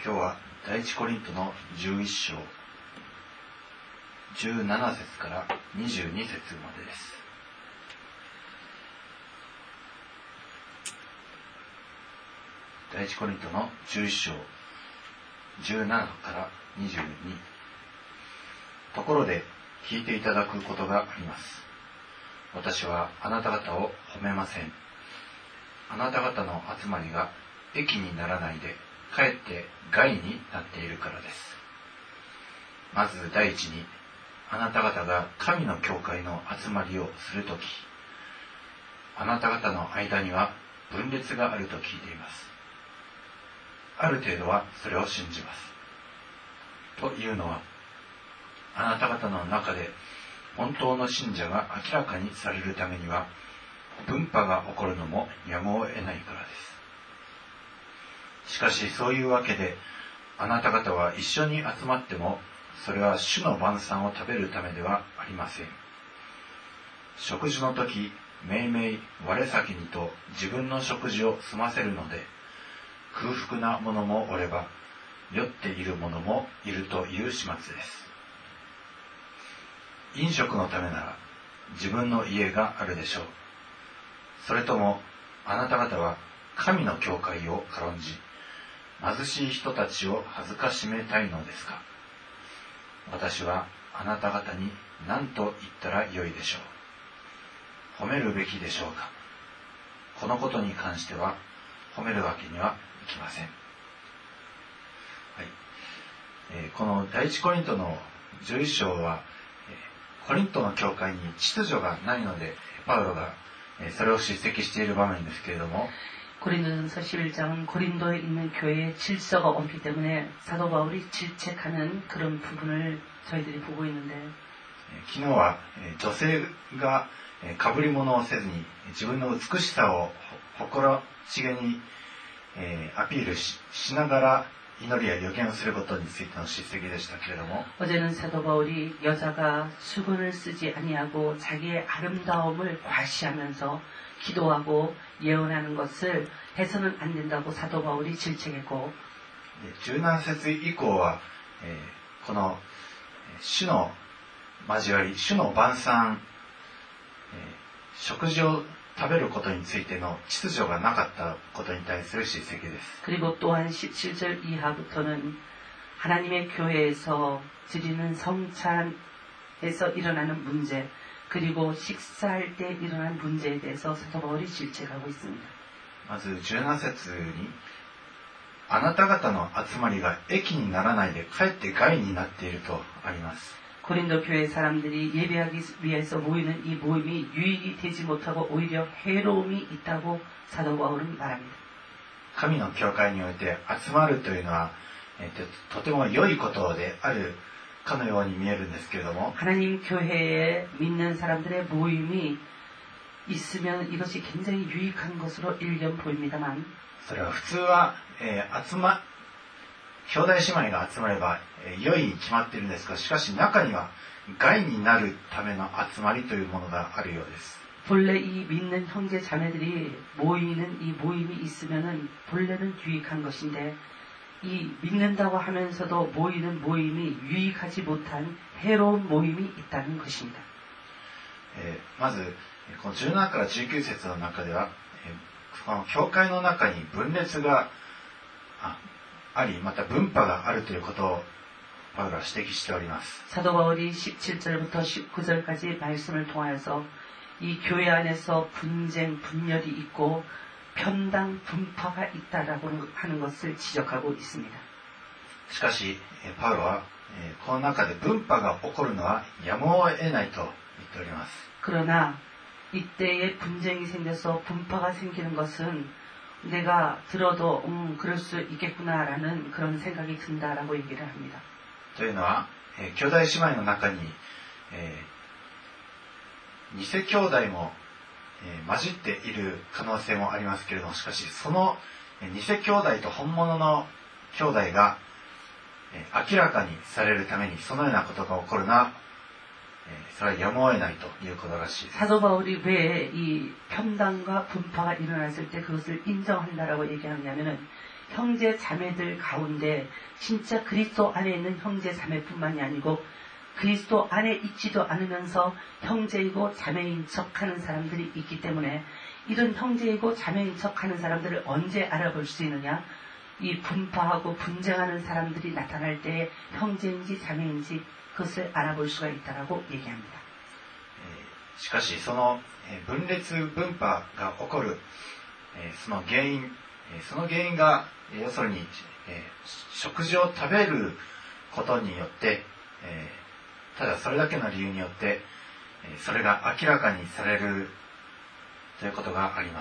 今日は第一コリントの11章17節から22節までです。第一コリントの11章17から22。ところで聞いていただくことがあります。私はあなた方を褒めません。あなた方の集まりが益にならないでかえって害になっているからです。まず第一に、あなた方が神の教会の集まりをするとき、あなた方の間には分裂があると聞いています。ある程度はそれを信じます。というのは、あなた方の中で本当の信者が明らかにされるためには、分派が起こるのもやむを得ないからです。しかしそういうわけで、あなた方は一緒に集まっても、それは主の晩餐を食べるためではありません。食事の時、めいめい我先にと自分の食事を済ませるので、空腹な者もおれば、酔っている者もいるという始末です。飲食のためなら自分の家があるでしょう。それともあなた方は神の教会を軽んじ、貧しい人たちを恥ずかしめたいのですか。私はあなた方に何と言ったらよいでしょう。褒めるべきでしょうか。このことに関しては褒めるわけにはいきません。はい。この第一コリントの11章は、コリントの教会に秩序がないので、パウロがそれを叱責している場面ですけれども、 고린도전서 11장은 고린도에 있는 교회에 질서가 없기 때문에 사도 바울이 질책하는 그런 부분을 저희들이 보고 있는데, 昨日は女性が被り物をせずに自分の美しさを誇らしげにアピール しながら祈りや予言をすることについての叱責でしたけれども、 어제는 사도 바울이 여자가 수건을 쓰지 아니하고 자기의 아름다움을 과시하면서 기도하고 예언하는 것을 해서는 안 된다고 사도 바울이 질책했고, 17節以降はこの主の交わり、主の晩餐、食事を食べることについての秩序がなかったことに対する叱責です。 그리고 또한 17절 이하부터는 하나님의 교회에서 드리는 성찬에서 일어나는 문제, 그리고 식사할 때 일어난 문제에 대해서 사도 바울이 질책하고 있습니다. まず17節に、あなた方の集まりが益にならないでかえって害になっているとあります。 고린도 교회 사람들이 예배하기 위해서 모이는 이 모임이 유익이 되지 못하고 오히려 해로움이 있다고 사도 바울은 말합니다. 神の教会において集まるというのは、とても良いことであるかのように見えるんですけれども、 하나님 교회에 믿는 사람들의 모임이 있으면 이것이 굉장히 유익한 것으로 일견 보입니다만, それは普通は、兄弟姉妹が集まれば、良いに決まっているんですが、しかし中には害になるための集まりというものがあるようです。 본래 이 믿는 형제 자매들이 모이는 이 모임이 있으면은 본래는 유익한 것인데, 이 믿는다고 하면서도 모이는 모임이 유익하지 못한 해로운 모임이 있다는 것입니다. まずこの17から19節の中では、この教会の中に分裂があり、また分派があるということをパウロは指摘しております。 사도 바울이 17절부터 19절까지 말씀을 통하여서 이 교회 안에서 분쟁, 분열이 있고 편당, 분파가 있다라고 하는 것을 지적하고 있습니다. しかしパウロはこの中で分派が起こるのはやむを得ないと言っております。 그러나 이때에 분쟁이 생겨서 분파가 생기는 것은 내가 들어도 그럴 수 있겠구나라는 그런 생각이 든다라고 얘기를 합니다. というのは、兄弟姉妹の中に、偽兄弟も、混じっている可能性もありますけれども、しかしその偽兄弟と本物の兄弟が、明らかにされるためにそのようなことが起こるのは、それはやむを得ないということらしいです。 사도 바울이 왜 이 편당과 분파가 일어났을 때 그것을 인정한다라고 얘기하냐면은 형제 자매들 가운데 진짜 그리스도 안에 있는 형제 자매뿐만이 아니고 그리스도 안에 있지도 않으면서 형제이고 자매인 척하는 사람들이 있기 때문에 이런 형제이고 자매인 척하는 사람들을 언제 알아볼 수 있느냐? 이 분파하고 분쟁하는 사람들이 나타날 때 형제인지 자매인지 그것을 알아볼 수가 있다라고 얘기합니다. しかしその分裂分派が起こるその原因が要するに食事を食べることによってただそれだけの理由によってそれが明らかにされるということがあります。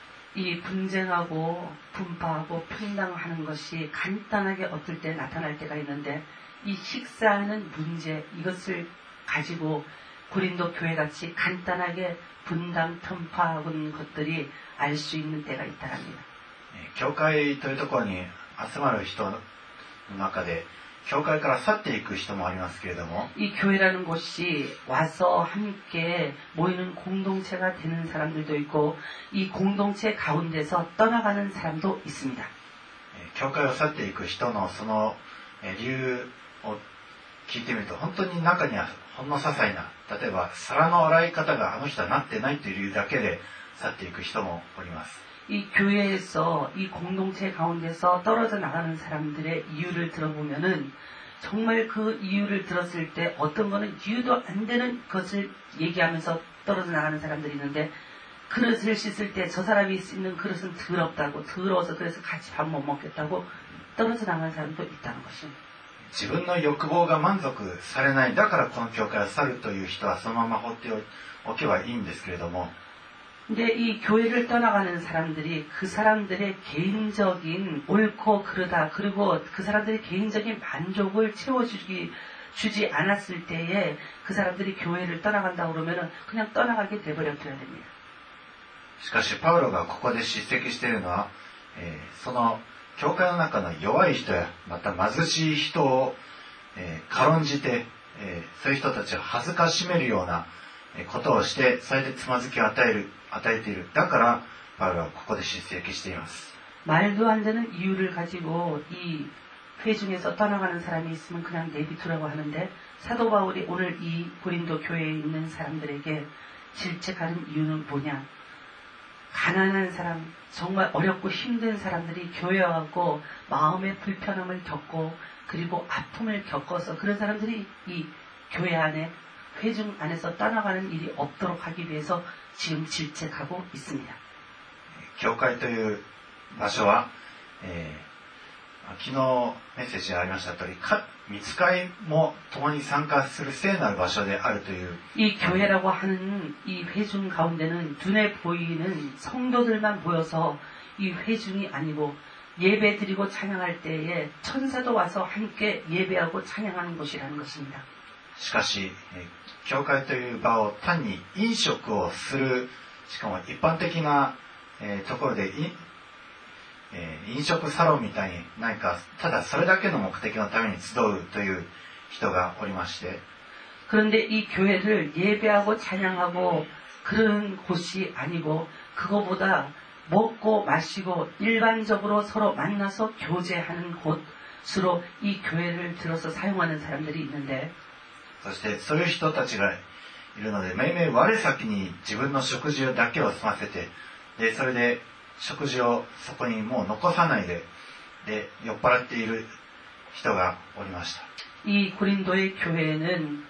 이 분쟁하고 분파하고 평당하는 것이 간단하게 어떨 때 나타날 때가 있는데 이 식사하는 문제 이것을 가지고 고린도 교회같이 간단하게 분당 편파하는 것들이 알 수 있는 때가 있다랍니다. 教会というところに集まる人の中で教会から去っていく人もありますけれども 이 교회라는 곳이 와서 함께 모이는 공동체가 되는 사람들도 있고 이 공동체 가운데서 떠나가는 사람도 있습니다. 教会を去っていく人のその理由を聞いてみると本当に中にはほんの些細な例えば皿の洗い方があの人はなってないという理由だけで去っていく人もおります。 이 교회에서 이 공동체 가운데서 떨어져 나가는 사람들의 이유를 들어보면은 정말 그 이유를 들었을 때 어떤 거는 이유도 안 되는 것을 얘기하면서 떨어져 나가는 사람들이 있는데 그릇을 씻을 때 저 사람이 씻는 그릇은 더럽다고 더러워서 그래서 같이 밥 못 먹겠다고 떨어져 나가는 사람도 있다는 것입니다. 自分の欲望が満足されないだからこの教会を去るという人はそのまま放っておけばいいんですけれども 근데 이 교회를 떠나가는 사람들이 그 사람들의 개인적인 옳고 그르다 그리고 그 사람들의 개인적인 만족을 주지 않았을 때에 그 사람들이 교회를 떠나간다고 그러면은 그냥 떠나가게 돼버려야 됩니다. しかしパウロがここで叱責しているのは、その教会の中の弱い人やまた貧しい人を、軽んじて、そういう人たちを恥ずかしめるようなことをしてそれでつまずきを与えている。だからパウロはここで叱責しています。 말도 안 되는 이유를 가지고 이 회중에서 떠나가는 사람이 있으면 그냥 내비두라고 하는데 사도 바울이 오늘 이 고린도 교회에 있는 사람들에게 질책하는 이유는 뭐냐? 가난한 사람, 정말 어렵고 힘든 사람들이 교회에 와고 마음의 불편함을 겪고 그리고 아픔을 겪어서 그런 사람들이 이 교회 안에 회중 안에서 떠나가는 일이 없도록 하기 위해서 지금 질책하고 있습니다. 教会という場所は、昨日メッセージにありました通り、御使いも共に参加する聖なる場所であるという。 이 교회라고 하는 이 회중 가운데는 눈에 보이는 성도들만 모여서 이 회중이 아니고 예배드리고 찬양할 때에 천사도 와서 함께 예배하고 찬양하는 곳이라는 것입니다. しかし、教会という場を単に飲食をする、しかも一般的な、ところで飲食サロンみたいに何かただそれだけの目的のために集うという人がおりまして 그런데 이 교회를 예배하고 찬양하고 그런 곳이 아니고 그거보다 먹고 마시고 일반적으로 서로 만나서 교제하는 곳으로 이 교회를 들어서 사용하는 사람들이 있는데 そしてそういう人たちがいるのでめいめい我先に自分の食事だけを済ませてでそれで食事をそこにもう残さないで酔っ払っている人がおりました。 이 고린도의 교회는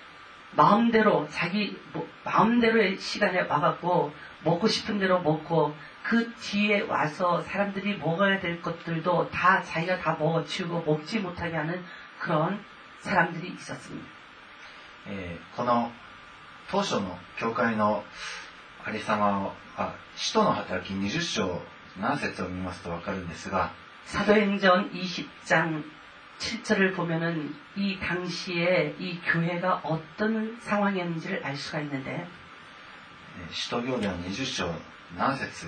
마음대로의 시간에 와갖고 먹고 싶은 대로 먹고 그 뒤에 와서 사람들이 먹어야 될 것들도 다 자기가 다 먹어치우고 먹지 못하게 하는 그런 사람들이 있었습니다. この当初の教会のありさまは使徒の働き20章7節を見ますと分かるんですが 사도행전 20장 7절을 보면은 이 당시에 이 교회가 어떤 상황이었는지를 알 수가 있는데 使徒行伝20章7節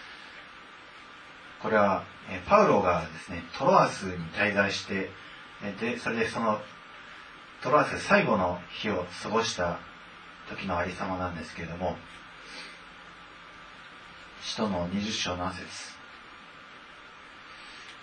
これはパウロがですねトロアスに滞在してでそれでそのトロアス最後の日を過ごした時のありさまなんですけれども使徒の20章7節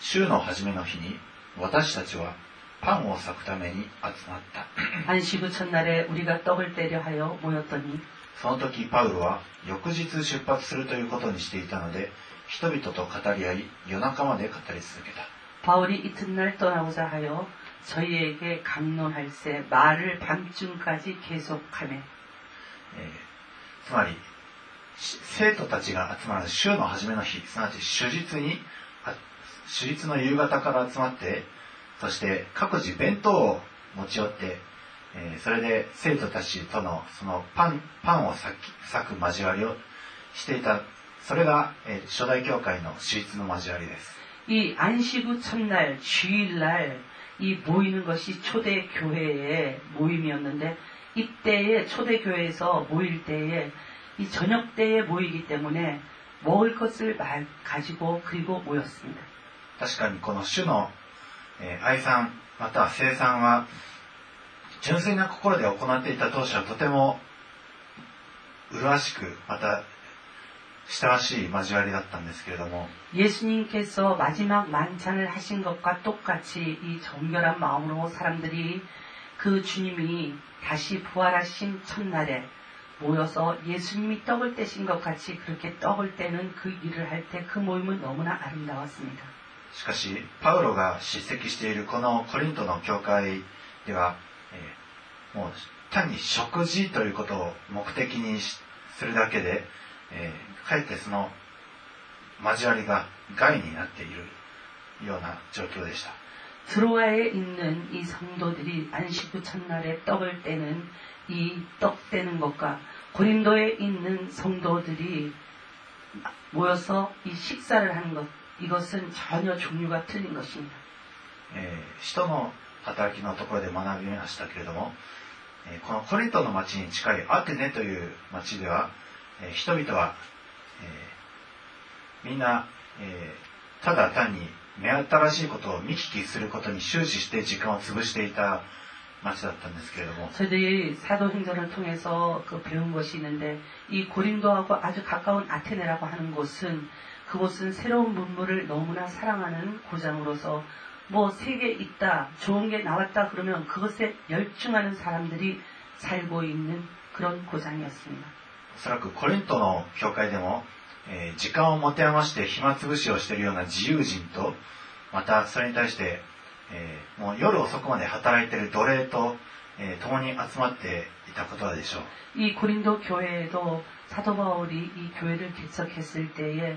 週の初めの日に私たちはパンを裂くために集まった。 안식 후 첫날에 우리가 떡을 떼려 하여 모였더니 その時パウロは翌日出発するということにしていたので、人々と語り合い夜中まで語り続けた。 바울이 이튿날 떠나고자 하여 저희에게 강론할세 말을 밤중까지 계속하매. つまり生徒たちが集まる週の初めの日、すなわち主日の夕方から集まって、そして各自弁当を持ち寄って、それで生徒たちとのそのパンを裂く交わりをしていた。それが、初代教会の主日の交わりです。 이 안식 후 첫날 주일날 이 모이는 것이 초대 교회의 모임이었는데, 이때에 초대 교회에서 모일 때에 이 저녁 때에 모이기 때문에 먹을 것을 가지고 그리고 모였습니다. 確かにこの主の愛賛または聖賛は純粋な心で行っていた当初はとても麗しくまた親しい交わりだったんですけれども、 예수님께서 마지막 만찬을 하신 것과 똑같이 이 정결한 마음으로 사람들이 그 주님이 다시 부활하신 첫날에 모여서 예수님이 떡을 떼신 것 같이 그렇게 떡을 떼는 그 일을 할 때 그 모임은 너무나 아름다웠습니다. しかしパウロが叱責しているこのコリントの教会では、もう単に食事ということを目的にするだけで、かえってその交わりが害になっているような状況でした。 드로아에 있는 이 성도들이 안식 후 첫날에 떡을 떼는 이 떡 떼는 것과 고린도에 있는 성도들이 모여서 이 식사를 하는 것, 이것은 전혀 종류가 틀린 것입니다. 使徒の働きのところで学びましたけれども、このコリントの町に近いアテネという町では、人々は、みんな、ただ単に目新しいことを見聞きすることに終始して時間を潰していた町だったんですけれども、 저희들이 사도행전을 통해서 그 배운 것이 있는데, 이 고린도하고 아주 가까운 아테네라고 하는 곳은 그곳은 새로운 문물을 너무나 사랑하는 고장으로서 뭐 새 개 있다, 좋은 게 나왔다 그러면 그것에 열중하는 사람들이 살고 있는 그런 고장이었습니다. おそらくコリントの教会でも、時間を持て余して暇つぶしをしているような自由人と、またそれに対して、もう夜遅くまで働いている奴隷と、共に集まっていたことでしょう。 이 고린도 교회에도 사도 바울이 이 교회를 개척했을 때에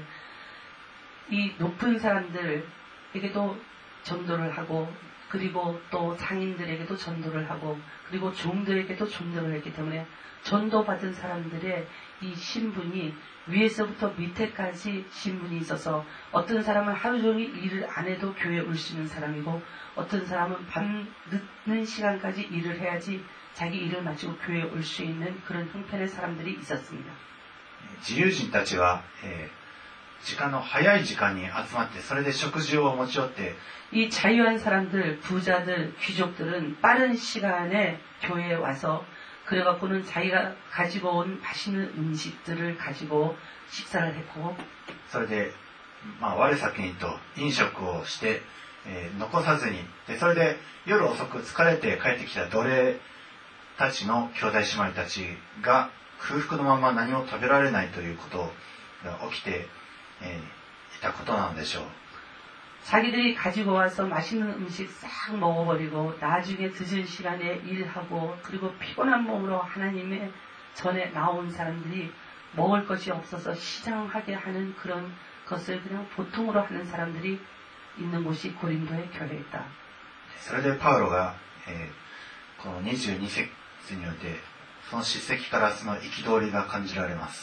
이 높은 사람들에게도 전도를 하고, 그리고 또 장인들에게도 전도를 하고, 그리고 종들에게도 전도를 했기 때문에 전도받은 사람들의 이 신분이 위에서부터 밑에까지 신분이 있어서, 어떤 사람은 하루 종일 일을 안 해도 교회에 올 수 있는 사람이고, 어떤 사람은 밤 늦는 시간까지 일을 해야지 자기 일을 마치고 교회에 올 수 있는 그런 형편의 사람들이 있었습니다. 自由人たちは、時間の早い時間に集まって、それで食事を持ち寄って、 이 자유한 사람들, 부자들, 귀족들은 빠른 시간에 교회에 와서 그래갖고는 자기가 가지고 온 맛있는 음식들을 가지고 식사를 했고, それで、我先にと飲食をして、残さずに、でそれで夜遅く疲れて帰ってきた奴隷たちの兄弟姉妹たちが空腹のまま何も食べられないということが起きて、いたことなのでしょう。 자기들이 가지고 와서 맛있는 음식 싹 먹어버리고 나중에 늦은 시간에 일하고 그리고 피곤한 몸으로 하나님의 전에 나온 사람들이 먹을 것이 없어서 시장하게 하는 그런 것을 그냥 보통으로 하는 사람들이 있는 곳이 고린도의 교회였다. それでパウロが、この22節においてその叱責からその憤りが感じられます。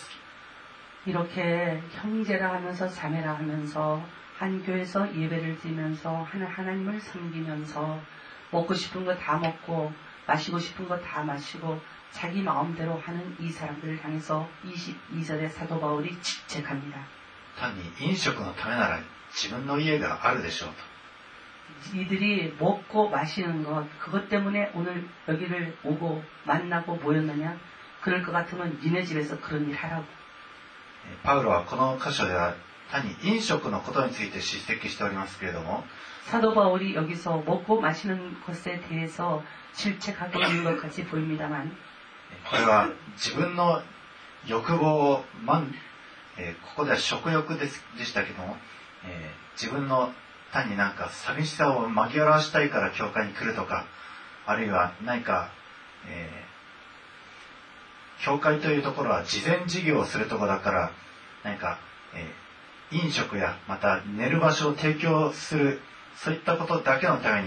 이렇게 형제라 하면서 자매라 하면서 한 교회에서 예배를 드리면서 하나님을 섬기면서 먹고 싶은 거 다 먹고 마시고 싶은 거 다 마시고 자기 마음대로 하는 이 사람들을 향해서 22절에 사도 바울이 질책합니다. 単に飲食のためなら自分の家があるでしょうと。 이들이 먹고 마시는 것, 그것 때문에 오늘 여기를 오고 만나고 모였느냐? 그럴 것 같으면 니네 집에서 그런 일 하라고. パウロはこの箇所では単に飲食のことについて叱責しておりますけれども、 사도 바울이 여기서 먹고 마시는 것에 대해서 질책하고 있는 것 같이 보입니다만, これは自分の欲望をここでは食欲でしたけども、自分の単になんか寂しさを紛らわしたいから教会に来るとか、あるいは何か、教会というところは慈善事業をするところだから何か、飲食やまた寝る場所を提供する、そういったことだけのために、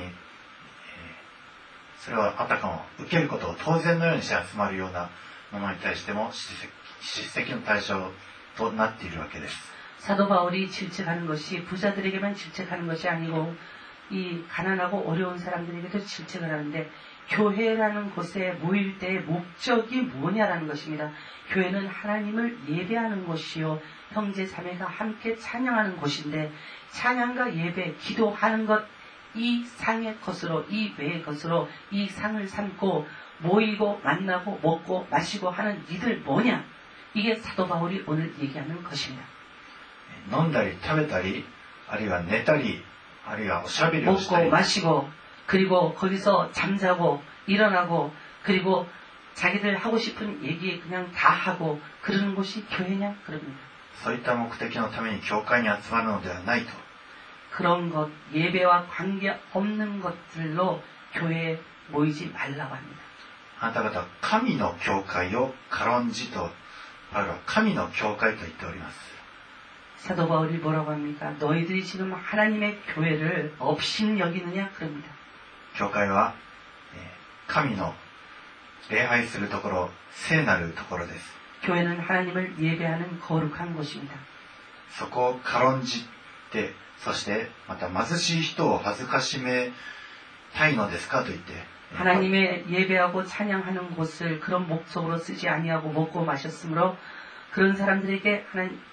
それはあたかも受けることを当然のようにして集まるようなものに対しても叱責の対象となっているわけです。 사도 바울이 질책하는 것이 부자들에게만 질책하는 것이 아니고 이 가난하고 어려운 사람들에게도 질책을 하는데, 교회라는 곳에 모일 때의 목적이 뭐냐라는 것입니다. 교회는 하나님을 예배하는 곳이요, 형제 자매가 함께 찬양하는 곳인데, 찬양과 예배, 기도하는 것, 이 상의 것으로, 이 외의 것으로 이 상을 삼고 모이고 만나고 먹고 마시고 하는 이들 뭐냐? 이게 사도 바울이 오늘 얘기하는 것입니다. 飲んだり食べたり、あるいは寝たり、あるいはおしゃべりをしたり、 먹고 마시고 그리고 거기서 잠자고 일어나고 그리고 자기들 하고 싶은 얘기 그냥 다 하고 그러는 곳이 교회냐? 그럽니다. そういった目的のために教会に集まるのではないと。 그런 것, 예배와 관계없는 것들로 교회에 모이지 말라고 합니다. あなた方は神の教会を軽んじと、あるいは神の教会と言っております。 사도 바울이 뭐라고 합니까? 너희들이 지금 하나님의 교회를 업신 여기느냐? 그럽니다. 教会は神の礼拝するところ、聖なるところです。 교회는 하나님을 예배하는 거룩한 곳입니다. そこを軽んじて、そしてまた貧しい人を恥ずかしめたいのですかと言って、 하나님의 예배하고 찬양하는 곳을 그런 목적으로 쓰지 아니하고 먹고 마셨으므로 그런 사람들에게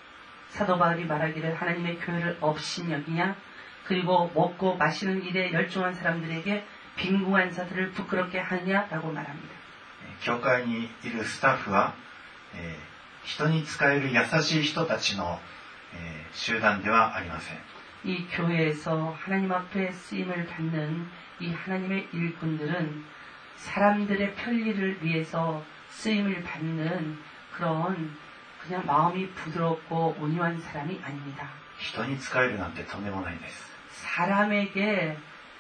사도 바울이 말하기를 하나님의 교회를 업신 여기냐? 그리고 먹고 마시는 일에 열중한 사람들에게 빈궁한 자들을 부끄럽게 하느냐라고 말합니다. 教会にいるスタッフは、人に仕える優しい人たちの、集団ではありません。 이 교회에서 하나님 앞에 쓰임을 받는 이 하나님의 일꾼들은 사람들의 편리를 위해서 쓰임을 받는 그런 그냥 마음이 부드럽고 온유한 사람이 아닙니다. 人に仕えるなんてとんでもないです。 사람에게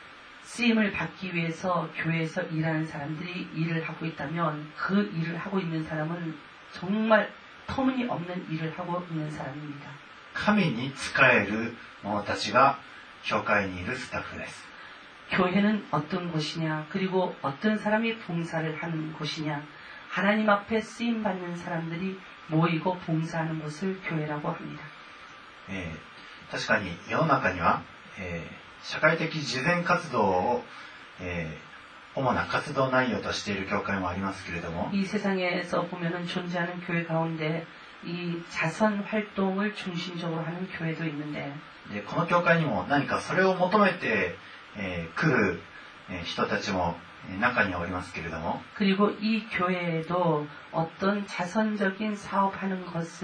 쓰임을 받기 위해서 교회에서 일하는 사람들이 일을 하고 있다면 그 일을 하고 있는 사람은 정말 터무니없는 일을 하고 있는 사람입니다. 神に仕える者たちが教会にいるスタッフです。 교회는 어떤 곳이냐, 그리고 어떤 사람이 봉사를 하는 곳이냐, 하나님 앞에 쓰임 받는 사람들이 모이고 봉사하는 곳을 교회라고 합니다. 確かに世の中には、社会的慈善活動を、主な活動内容としている教会もありますけれども、 이 세상에서 보면은 존재하는 교회 가운데 이 자선 활동을 중심적으로 하는 교회도 있는데, でこの教会にも何かそれを求めて、来る、人たちも中にはおりますけれども、 그리고 이 교회에도 어떤 자선적인 사업하는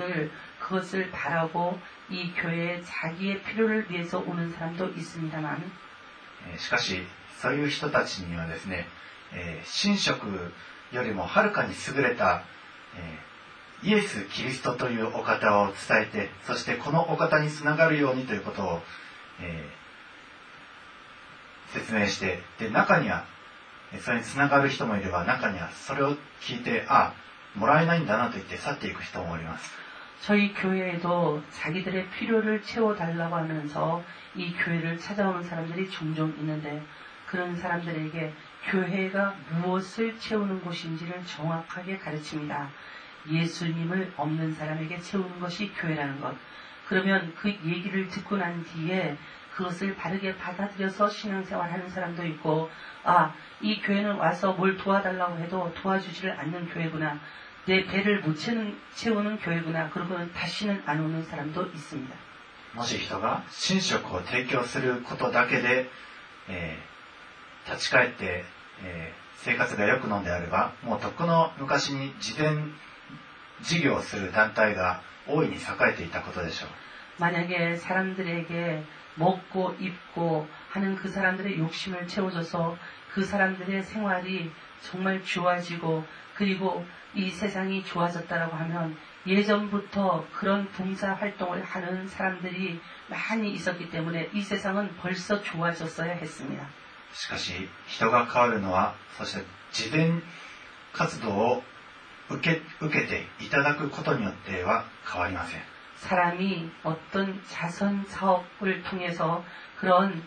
그것을 바라고 이 교회에 자기의 필요를 위해서 오는 사람도 있습니다만, しかしそういう人たちにはですね、神職よりもはるかに優れた、イエス・キリストというお方を伝えて、そしてこのお方につながるようにということを、説明して、で中にはそれにつながる人もいれば、中にはそれを聞いてもらえないんだなと言って去っていく人もおります。 저희 교회에도 자기들의 필요를 채워달라고 하면서 이 교회를 찾아오는 사람들이 종종 있는데, 그런 사람들에게 교회가 무엇을 채우는 곳인지를 정확하게 가르칩니다. 예수님을 없는 사람에게 채우는 것이 교회라는 것. 그러면 그 얘기를 듣고 난 뒤에 그것을 바르게 받아들여서 신앙생활하는 사람도 있고, 이 교회는 와서 뭘 도와달라고 해도 도와주지를 않는 교회구나, 내 배를 못 채우는 교회구나, 그러고는 다시는 안 오는 사람도 있습니다. もし人が神職を提供することだけで、立ち返って、生活が良くのであれば、もうとっくの昔に慈善事業をする団体が大いに栄えていたことでしょう。 만약에 사람들에게 먹고 입고 하는 그 사람들의 욕심을 채워줘서 그 사람들의 생활이 정말 좋아지고 그리고 이 세상이 좋아졌다라고 하면 예전부터 그런 봉사 활동을 하는 사람들이 많이 있었기 때문에 이 세상은 벌써 좋아졌어야 했습니다. しかし、人が変わるのは、そして自伝活動を受けていただくことによっては変わりません。 사람이 어떤 자선 사업을 통해서 그런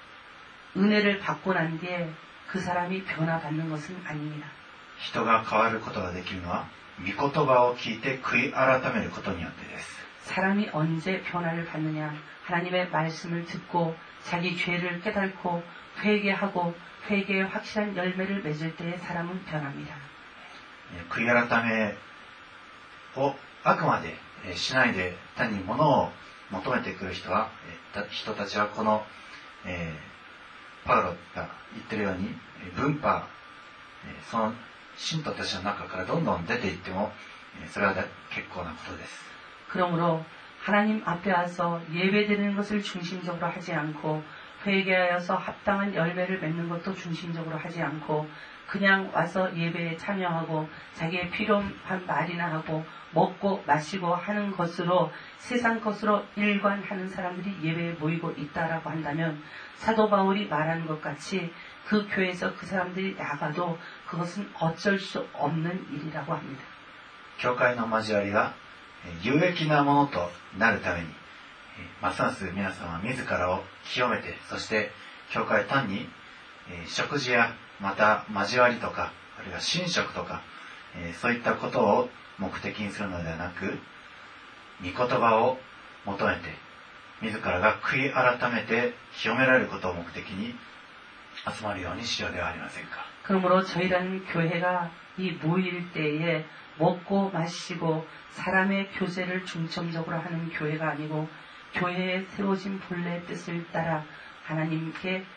은혜를 받고 난 뒤에 그 사람이 변화받는 것은 아닙니다. 人が変わることができるのは、御言葉を聞いて悔い改めることによってです。 사람이 언제 변화를 받느냐? 하나님의 말씀을 듣고 자기 죄를 깨닫고 회개하고 회개의 확실한 열매를 맺을 때에 사람은 변합니다. 悔い改めをあくまでしないで単に物を求めてくる人たちはこの、パウロが言ってるように分派、その信徒たちの中からどんどん出ていってもそれは結構なことです。 그러므로 하나님 앞에 와서 예배드리는 것을 중심적으로 하지 않고 회개하여서 합당한 열매를 맺는 것도 중심적으로 하지 않고 그냥 와서 예배에 참여하고 자기의 필요한 말이나 하고 먹고 마시고 하는 것으로 세상 것으로 일관하는 사람들이 예배에 모이고 있다라고 한다면 사도 바울이 말하는 것 같이 그 교회에서 그 사람들이 나가도 그것은 어쩔 수 없는 일이라고 합니다. 教会の交わりが有益なものとなるためにますます皆様は自らを清めて、そして教会単に食事やまた交わりとかあるいは寝食とかそういったことを目的にするのではなく、御言葉を求めて自らが悔い改めて清められることを目的に集まるようにしようではありませんか。 그러므로 저희라는 교회가 이 모일 때에 먹고 마시고 사람의 교제를 중점적으로 하는 교회가 아니고 교회에 세워진 본래의 뜻을 따라 하나님께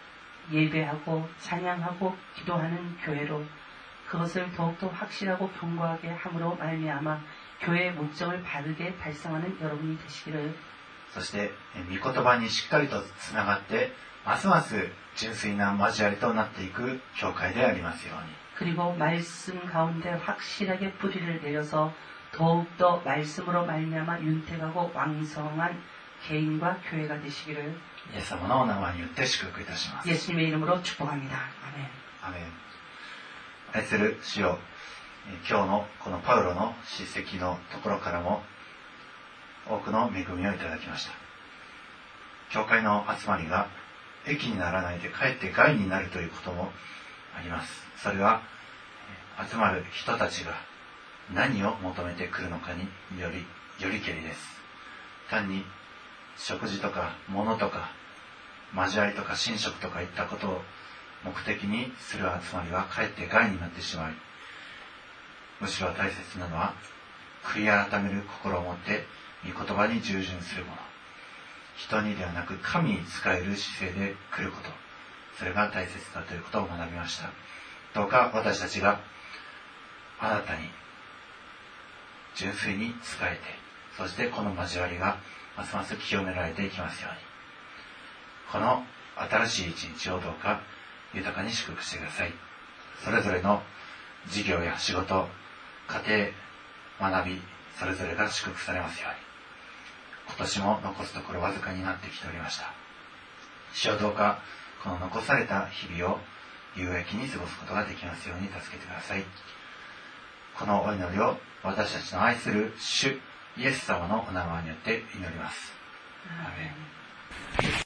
예배하고 찬양하고 기도하는 교회로 그것을 더욱더 확실하고 견고하게 함으로 말미암아 교회의 목적을 바르게 달성하는 여러분이 되시기를. そして御言葉にしっかりとつながってますます純粋な交わりとなっていく教会でありますように。 그리고 말씀 가운데 확실하게 뿌리를 내려서 더욱더 말씀으로 말미암아 윤택하고 왕성한 개인과 교회가 되시기를 イエス様のお名前によって祝福いたします。 예수님의 이름으로 축복합니다. 아멘. アメン。愛する主よ、今日のこのパウロの叱責のところからも多くの恵みをいただきました。教会の集まりが益にならないでかえって害になるということもあります。それは集まる人たちが何を求めてくるのかによりけりです。単に食事とか物とか交わりとか寝食とかいったことを目的にする集まりはかえって害になってしまい、むしろ大切なのは悔い改める心を持って御言葉に従順するもの、人にではなく神に仕える姿勢で来ること、それが大切だということを学びました。どうか私たちがあなたに純粋に仕えて、そしてこの交わりがますます清められていきますように、この新しい一日をどうか豊かに祝福してください。それぞれの事業や仕事、家庭、学び、それぞれが祝福されますように。今年も残すところわずかになってきておりました。主よ、どうかこの残された日々を有益に過ごすことができますように助けてください。このお祈りを私たちの愛する主イエス様のお名前によって祈ります。アーメン。